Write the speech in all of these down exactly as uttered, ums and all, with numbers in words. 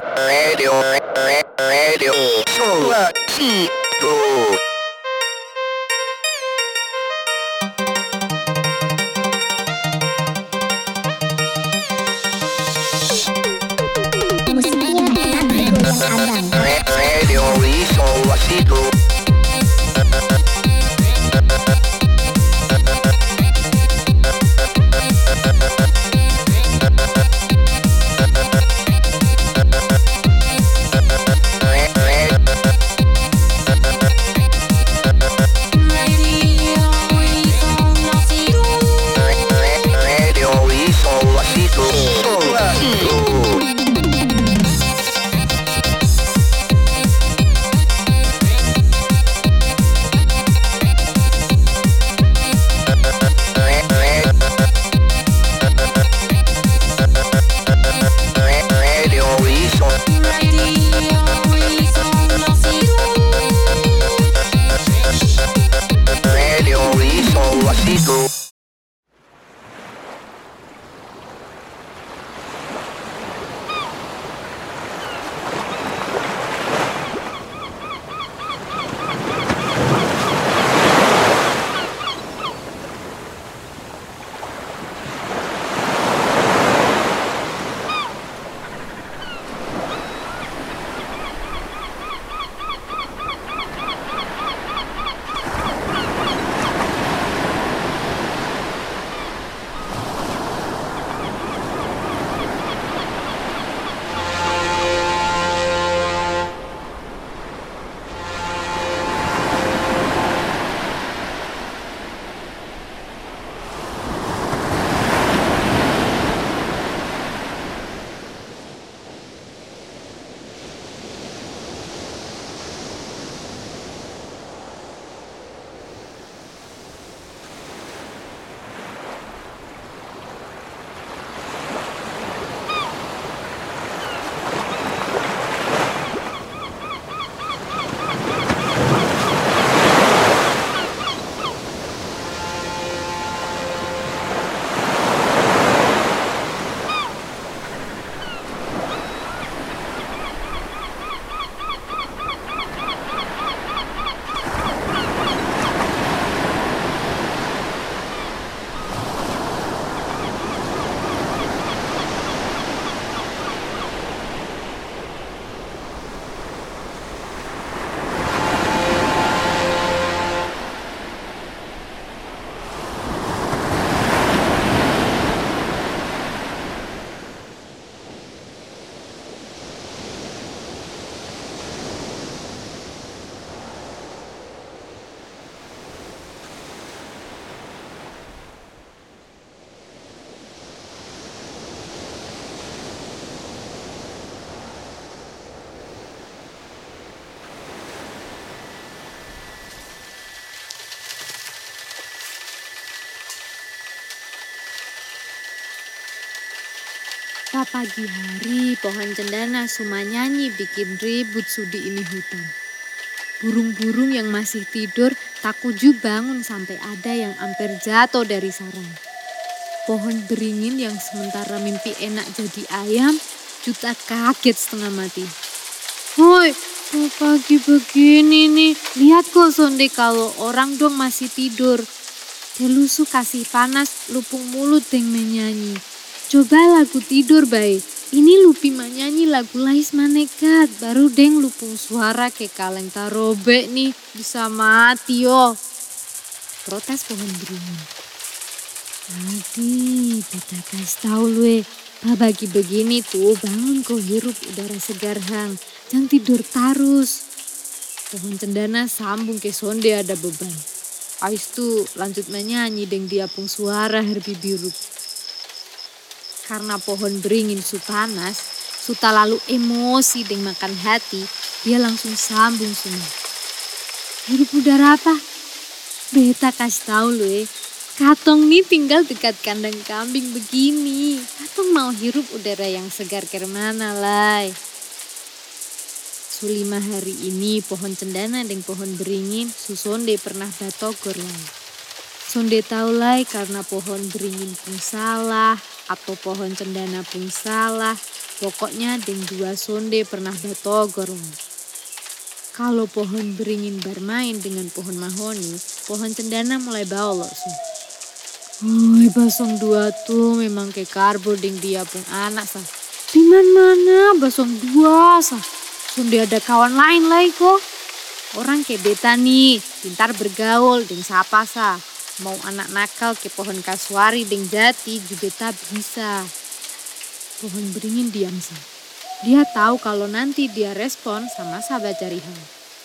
Radio, radio, Suarsido. Radio Suarsido. Pas pagi hari, pohon cendana cuma nyanyi bikin ribut sudi ini hutan. Burung-burung yang masih tidur tak kunjung bangun sampai ada yang hampir jatuh dari sarang. Pohon beringin yang sementara mimpi enak jadi ayam, juta kaget setengah mati. Woi, kok pagi begini nih? Lihat kok sonde kalau orang dong masih tidur. Delusu kasih panas, lupung mulut deng menyanyi. Coba lagu tidur baik. Ini lupi menyanyi lagu lais manekat. Baru deng lupung suara ke kaleng tarobe nih. Bisa mati yo. Protes pohon beringin. Adi, beta kasih tau lu eh. Pagi begini tuh bangun kau hirup udara segar hang. Jangan tidur terus. Pohon cendana sambung ke sonde ada beban. Ais tuh lanjut menyanyi deng diapung suara herbi biru. Karena pohon beringin su panas, su tak lalu emosi deng makan hati, dia langsung sambung semua. Hirup udara apa? Beta kasih tahu lu eh. Katong nih tinggal dekat kandang kambing begini. Katong mau hirup udara yang segar kemana lai. Sulima hari ini pohon cendana dan pohon beringin susonde pernah batogor lai. Sonde tahu lai karena pohon beringin pun salah atau pohon cendana pun salah. Pokoknya deng dua sonde pernah batogor. Kalau pohon beringin bermain dengan pohon mahoni, pohon cendana mulai bawa so. Oi, basong dua tuh memang kayak karbo deng dia pun anak sah. Diman mana basong dua sah. Sonde ada kawan lain lagi kok. Orang kayak beta nih, pintar bergaul deng siapa sah. Mau anak nakal ke pohon kasuari deng jati juga beta bisa. Pohon beringin diam sah. Dia tahu kalau nanti dia respon sama sahabat cari hal.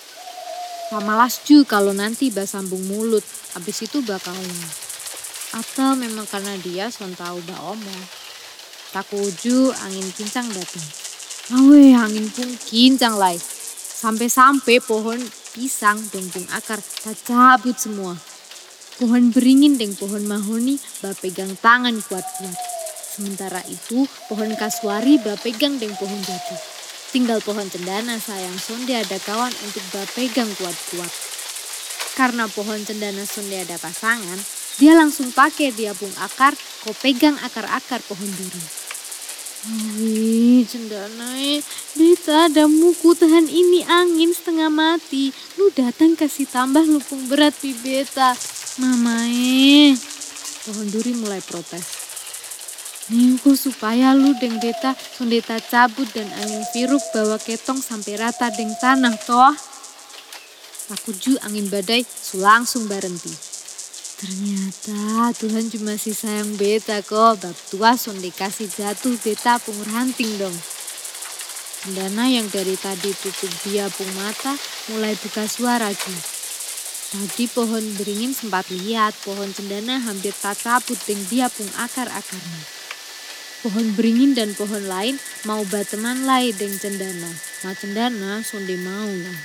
Pamalas ju kalau nanti basambung mulut, habis itu bakal. Atau memang karena dia son tahu ba omong. Tak uju angin kincang datang. Awe angin pun kincang lai. Sampai-sampai pohon pisang deng pung akar tak cabut semua. Pohon beringin deng pohon mahoni bapegang tangan kuat-kuat. Sementara itu pohon kasuari bapegang deng pohon jati. Tinggal pohon cendana sayang sonde ada kawan untuk bapegang kuat-kuat. Karena pohon cendana sonde ada pasangan, dia langsung pakai dia pung akar, kau pegang akar-akar pohon duri. Wih cendana eh, beta ada muku tahan ini angin setengah mati. Lu datang kasih tambah lupung berat pi beta. Mama eh, pohon duri mulai protes. Ningko supaya lu deng beta sondeta cabut dan angin viruk bawa ketong sampai rata deng tanah toh. Takuju angin badai su langsung berhenti. Ternyata Tuhan cuma si sayang beta kok. Bab tua sonde kasih jatuh beta pung ranting dong. Cendana yang dari tadi tutup dia pung mata mulai buka suara ju. Tadi pohon beringin sempat lihat pohon cendana hampir tak cabut deng dia pung akar-akarnya. Pohon beringin dan pohon lain mau bateman lai deng cendana. Nah cendana sonde mau lah.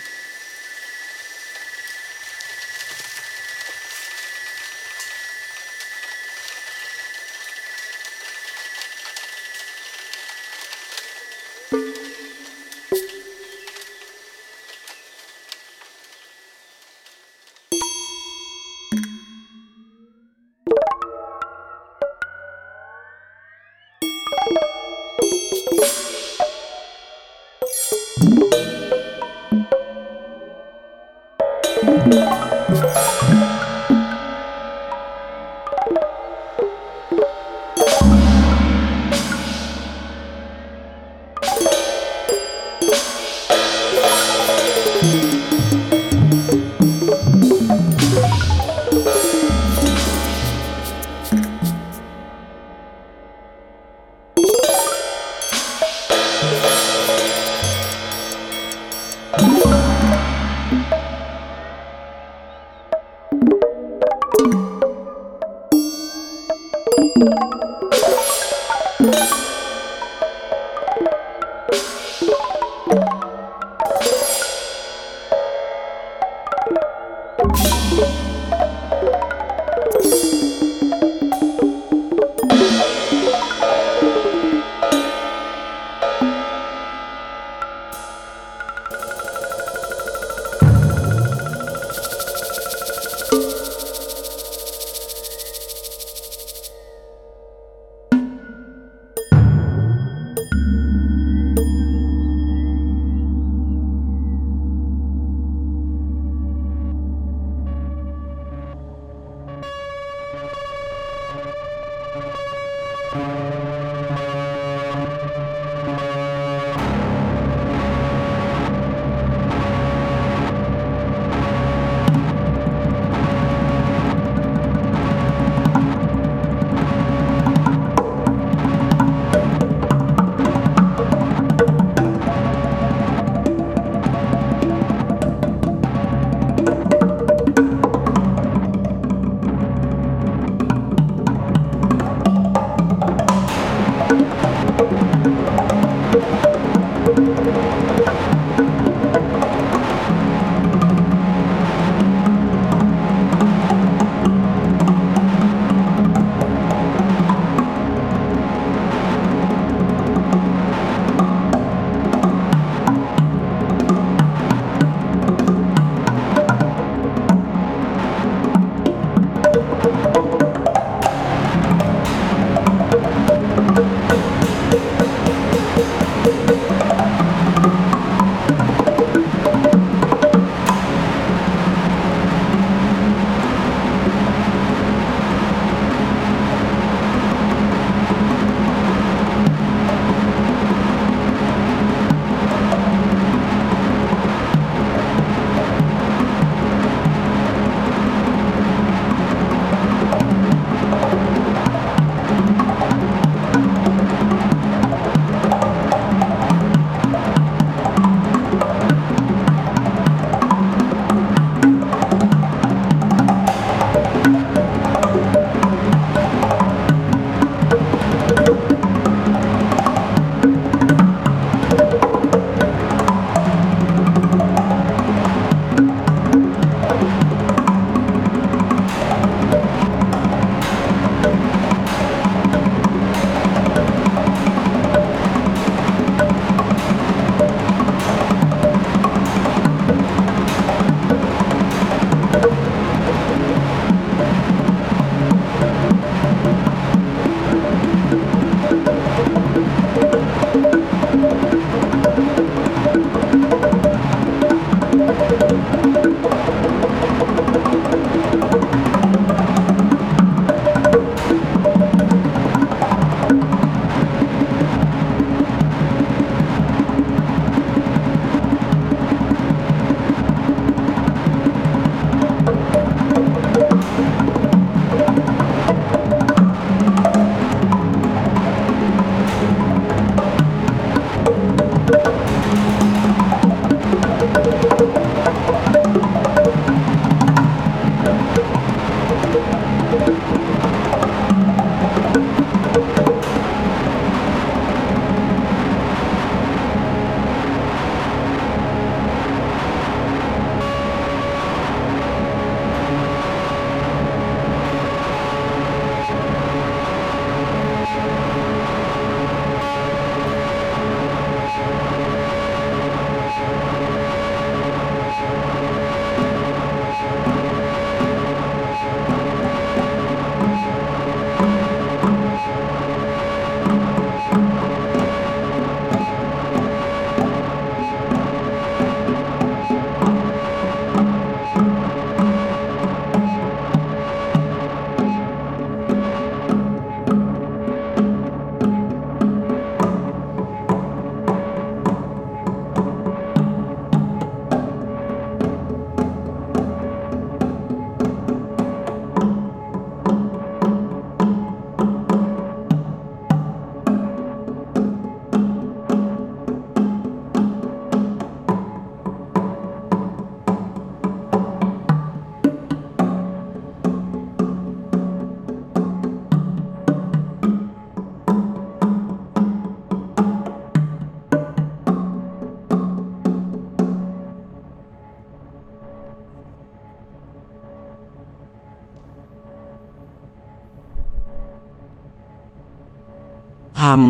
Hum.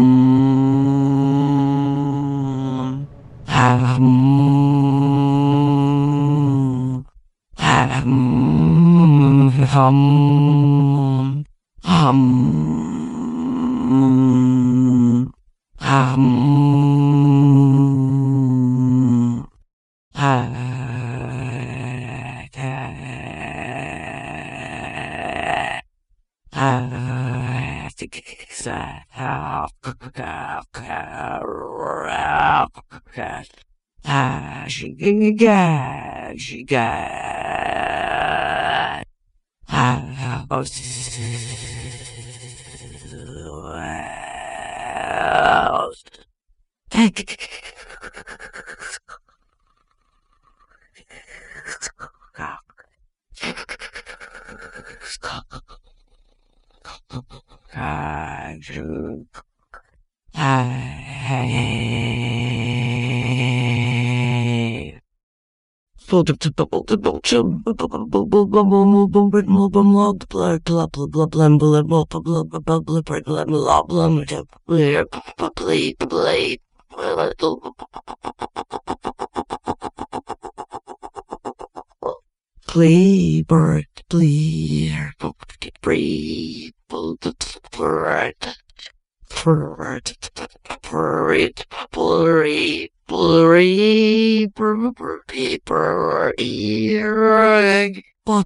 Hum. Hum. Hum. Hum. Hum. Ah, she got, she got. Ah, oh, Play, bird, play, breathe, bird, bird, bird, blurry, blurry, blurry, blurry. Dum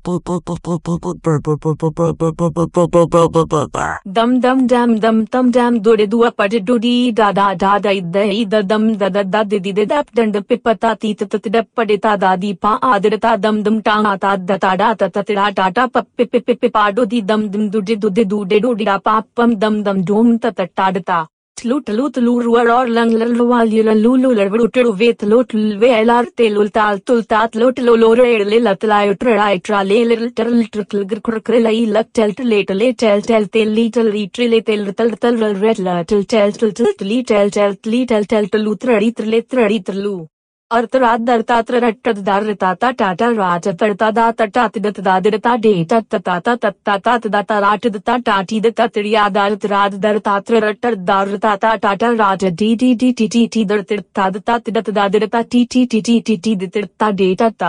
dum dam dum dum dam do de dua pa de do di da da da da da da dum da da da di di de dap dand pipata ti ta ta da pa de ta da di pa adr ta dum dum ta ta da ta da ta ta ta ta ta pa pi pi pi pa do di dum dum do de do de do de do di da pa pam dum dum dum ta ta ta da ta tlu tlu tlu ruar or lang lang wal yul lulu lervu tru vet lot ve elar telul tal tul tat lot lo lo re le lat la tra tra le le tel tr gr kr kr lai lak tel le le tel tel tel li tel ri tri le tel tel tel red la tel tel tel tel li tel tel li tel tel tel tra ri tr le tra ri tr lu अर्तरात दरता त्रट्ट दारता ता टाटा राज तरता दा तटा तिदत दादरता डे तत ताता तत्ता तात दाता राट दता टाटी दता त्रिया दारत राद दरता त्रट्ट दारता ता टाटा राज D D D T T T दरता दता तिदत दादरता T T T T T T दता डे तता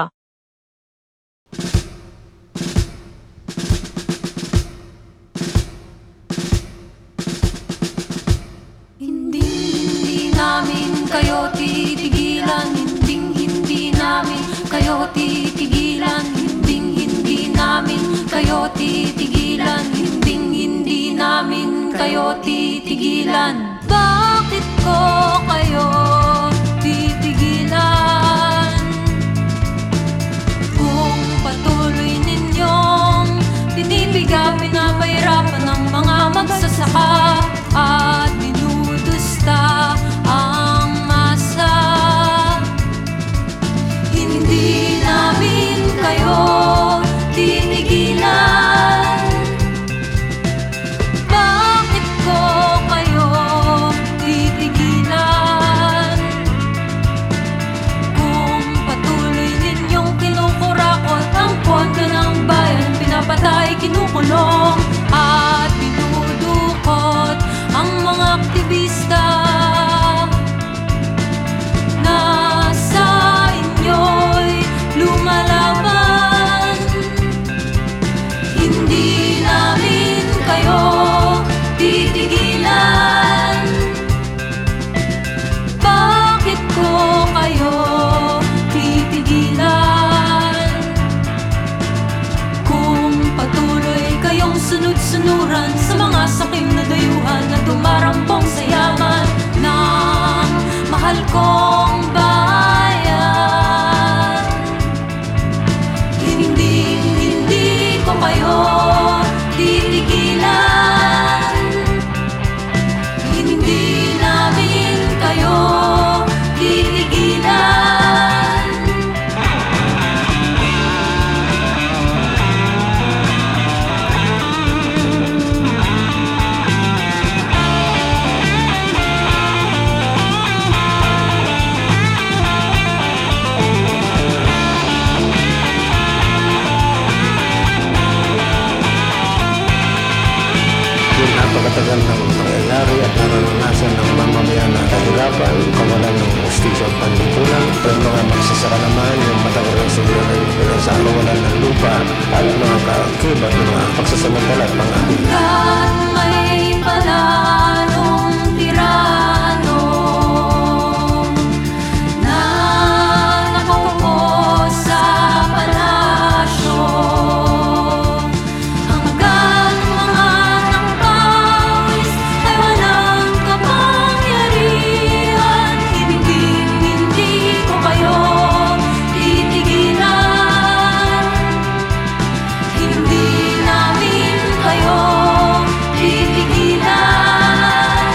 Hindi hindi namin kayo titigilan, hinding hindi namin kayo titigilan, hinding hindi namin kayo titigilan, hinding hindi namin kayo titigilan. Bakit ko kayo titigilan? Kung patuloy ninyong pinipiga, pinapahirapan ng mga magsasaka at minudusta ang masa, hindi namin kayo titigilan. Bakit ko kayo titigilan? yung mga magsasaka naman, yung matagal ng siguro ng sa kawalan ng lupa, at mga kakibat, mga pagsasamantala at mga Hanggat may palanong tirano na nakaupo sa palasyo, hanggang mga nangpawis ay walang kapangyarihan, hindi ko kayo titigilan. Hindi namin kayo titigilan.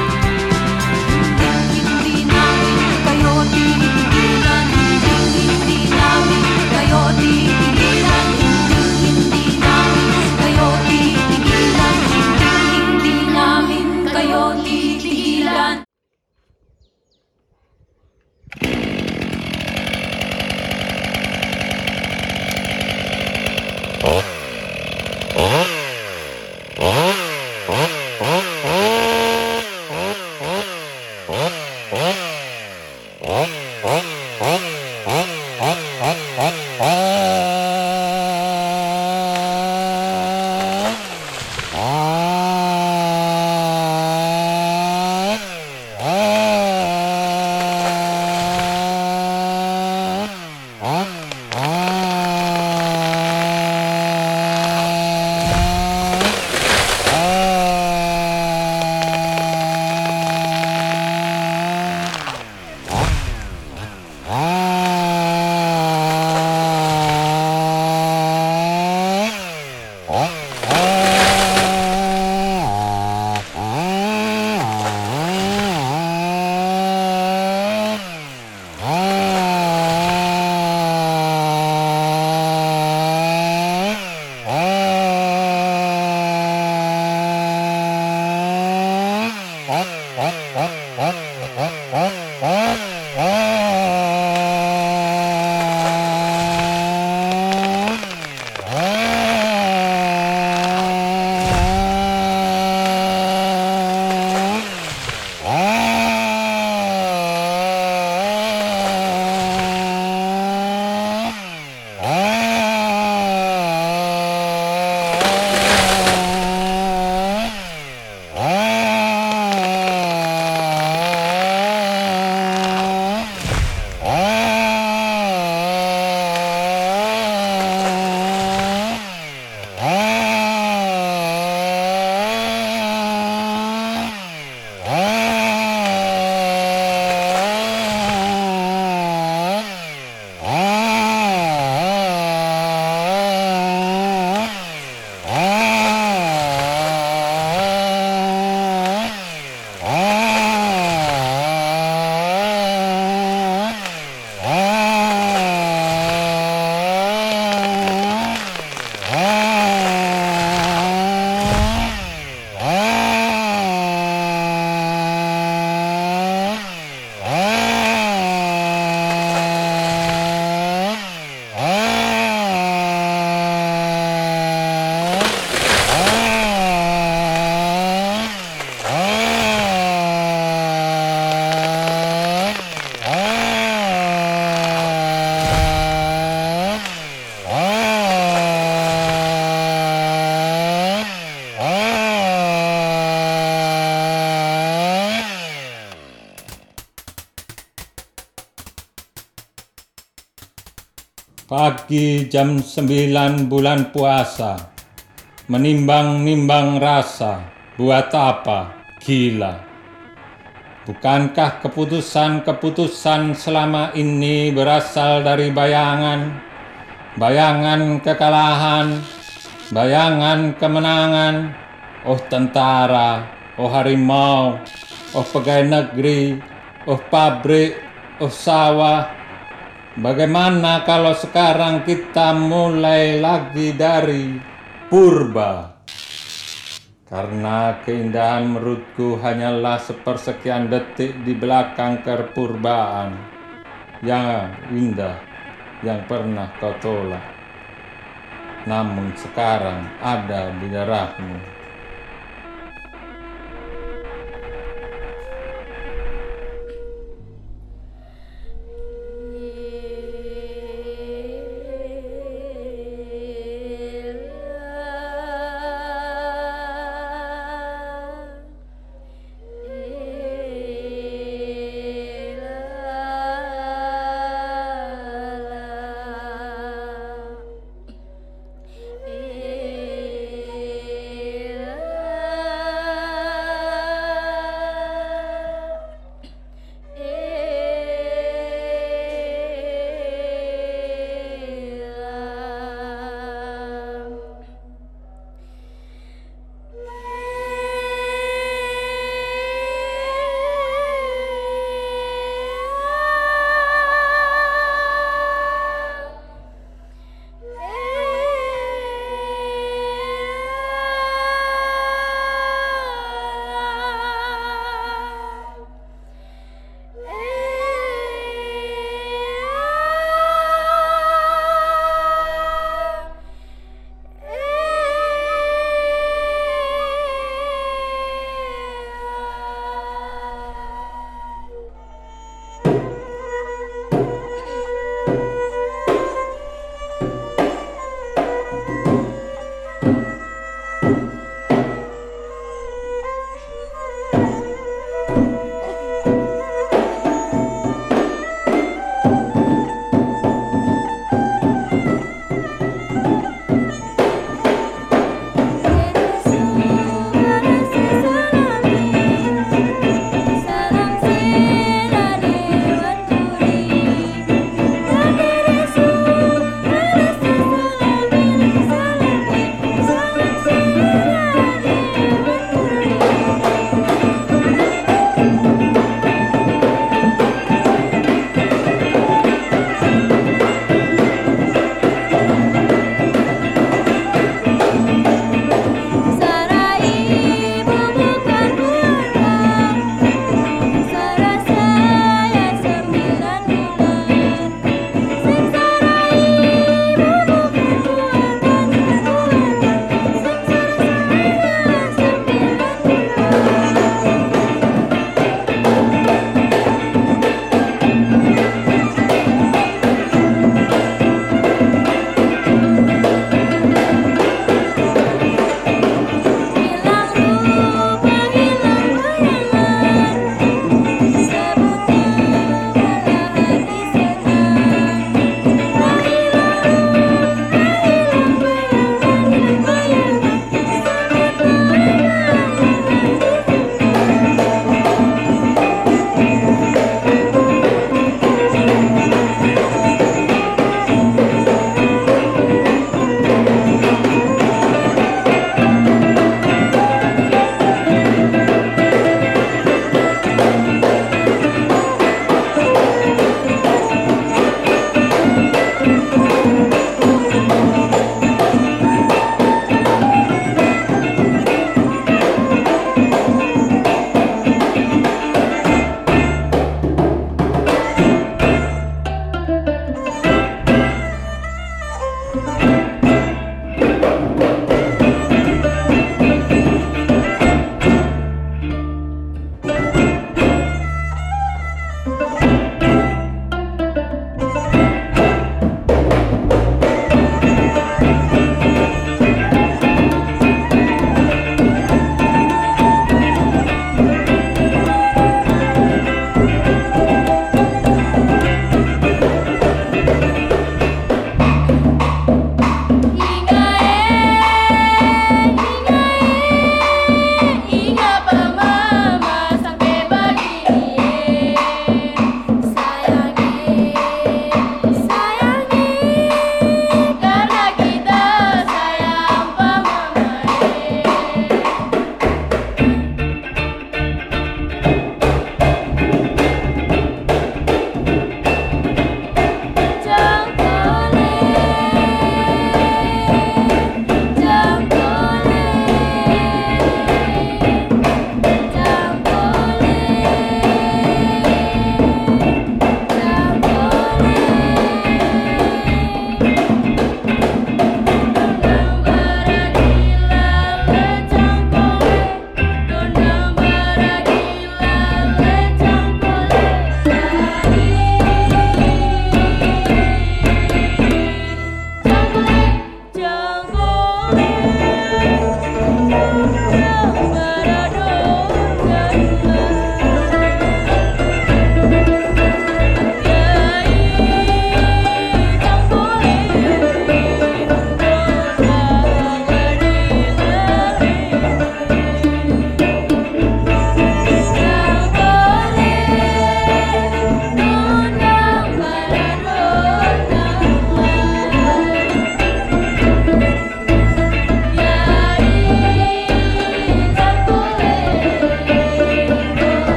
Hindi, hindi namin kayo titigilan. Hindi, hindi namin kayo titigilan. Hindi, hindi namin kayo titigilan. Hindi, hindi namin kayo titigilan. Pagi jam sembilan bulan puasa, menimbang-nimbang rasa, buat apa gila? Bukankah keputusan-keputusan selama ini berasal dari bayangan, bayangan kekalahan, bayangan kemenangan? Oh tentara, oh harimau, oh pegawai negeri, oh pabrik, oh sawah. Bagaimana kalau sekarang kita mulai lagi dari purba? Karena keindahan menurutku hanyalah sepersekian detik di belakang kepurbaan yang indah yang pernah kau tolak. Namun sekarang ada di darahmu.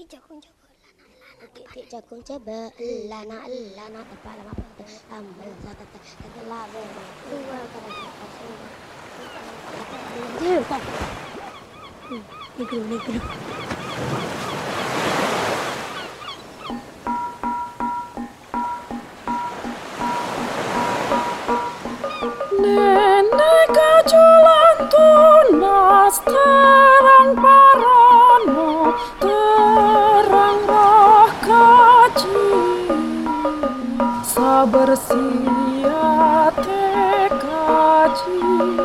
Dik jagung jago lana dik dik jagung coba lana lana tepat lama pada ambal satu satu lawe dua pada satu dia tak negro negro nenek kaculan tunas terang parano terang roh kaji sabar siate kaji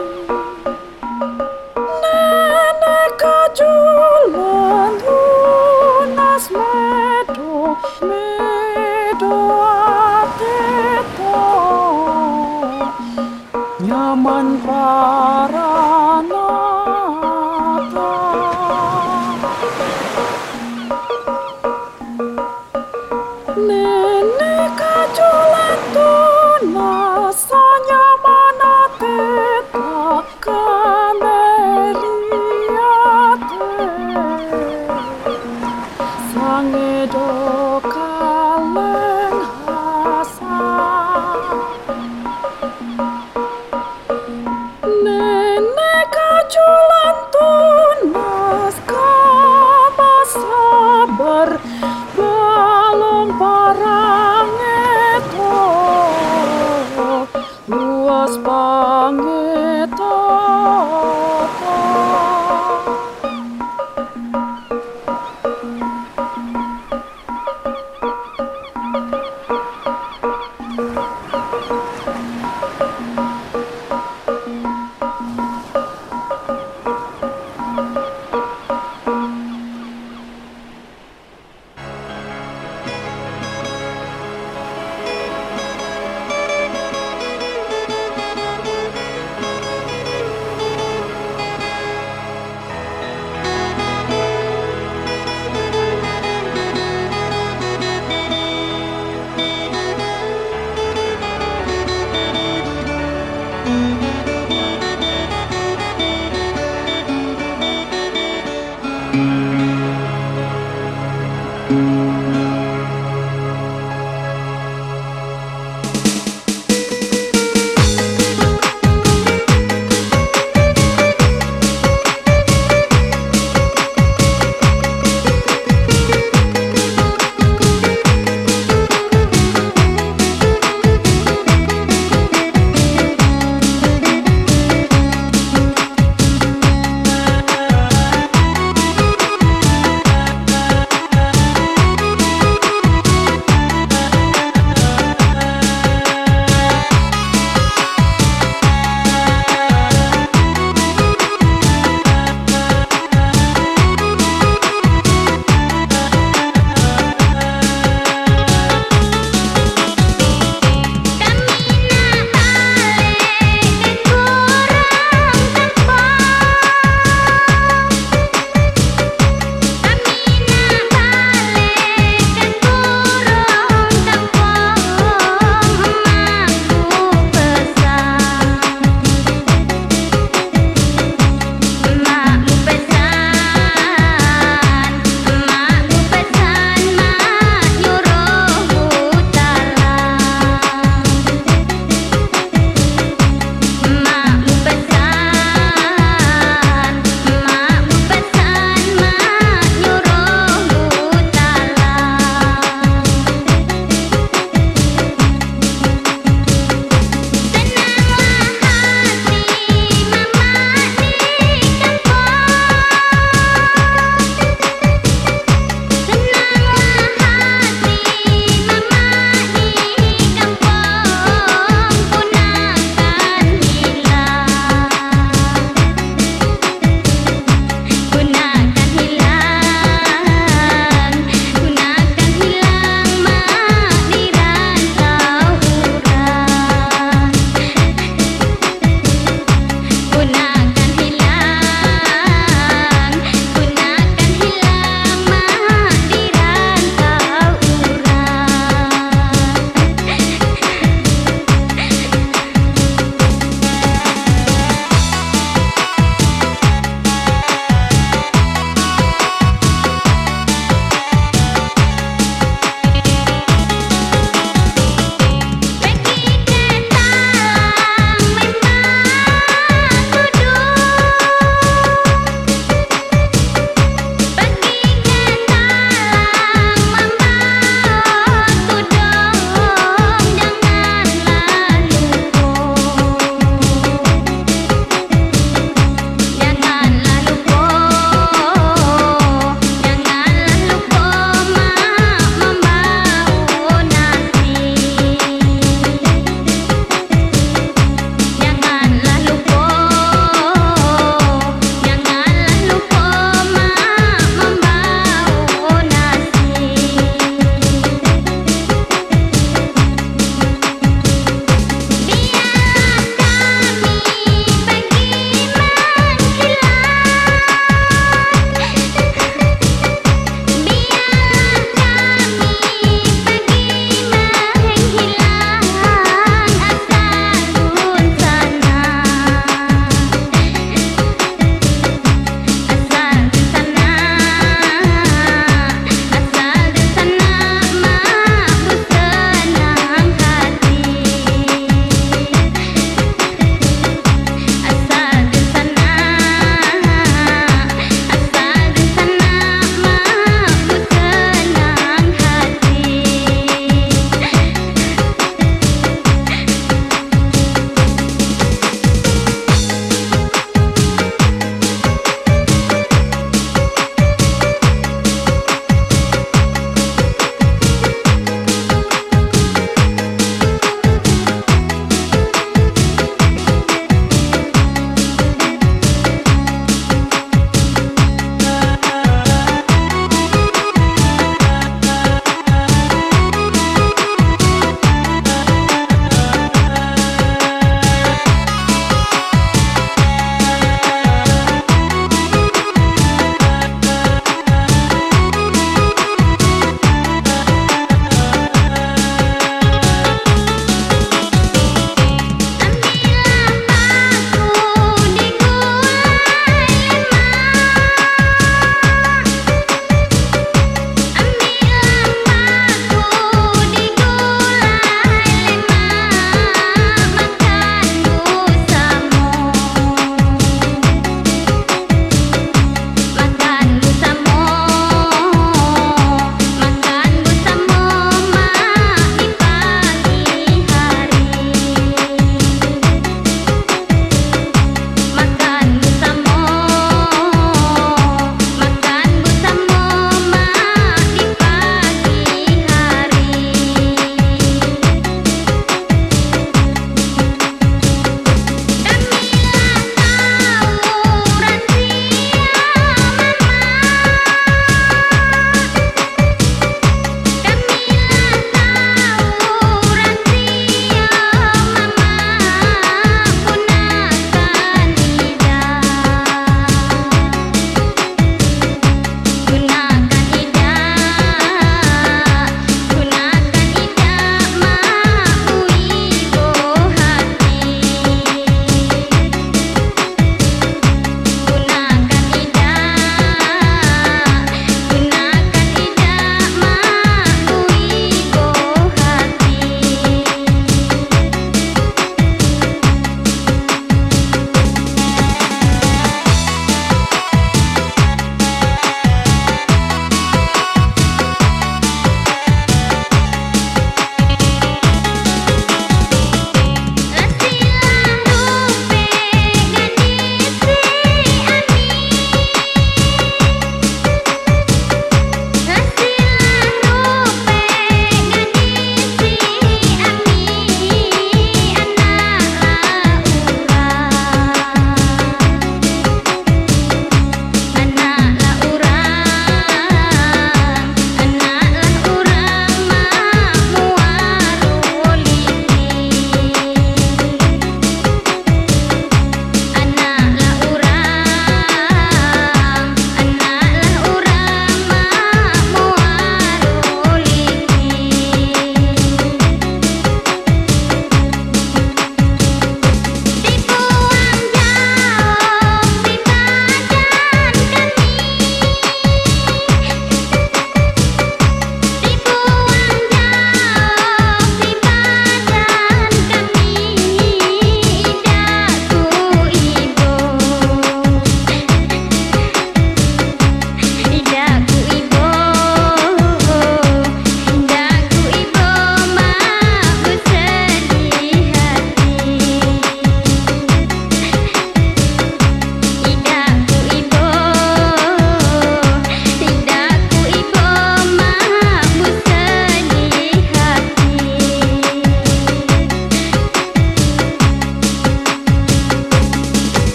nenek kaculan tunas medo medo ateto nyaman paranata nenek kaculan tunas nyaman ateta kameriate sangedo kaleng hasa nenek kaculan tunas kama sabar balong parangeto luas pangeto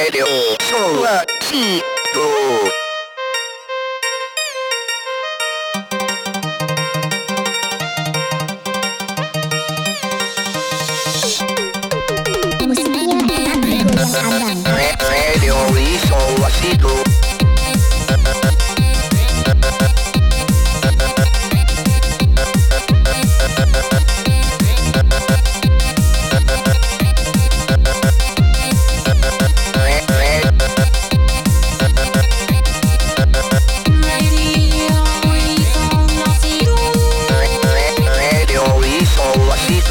Radio Suacito. Radio Suacito. Radio Suacito.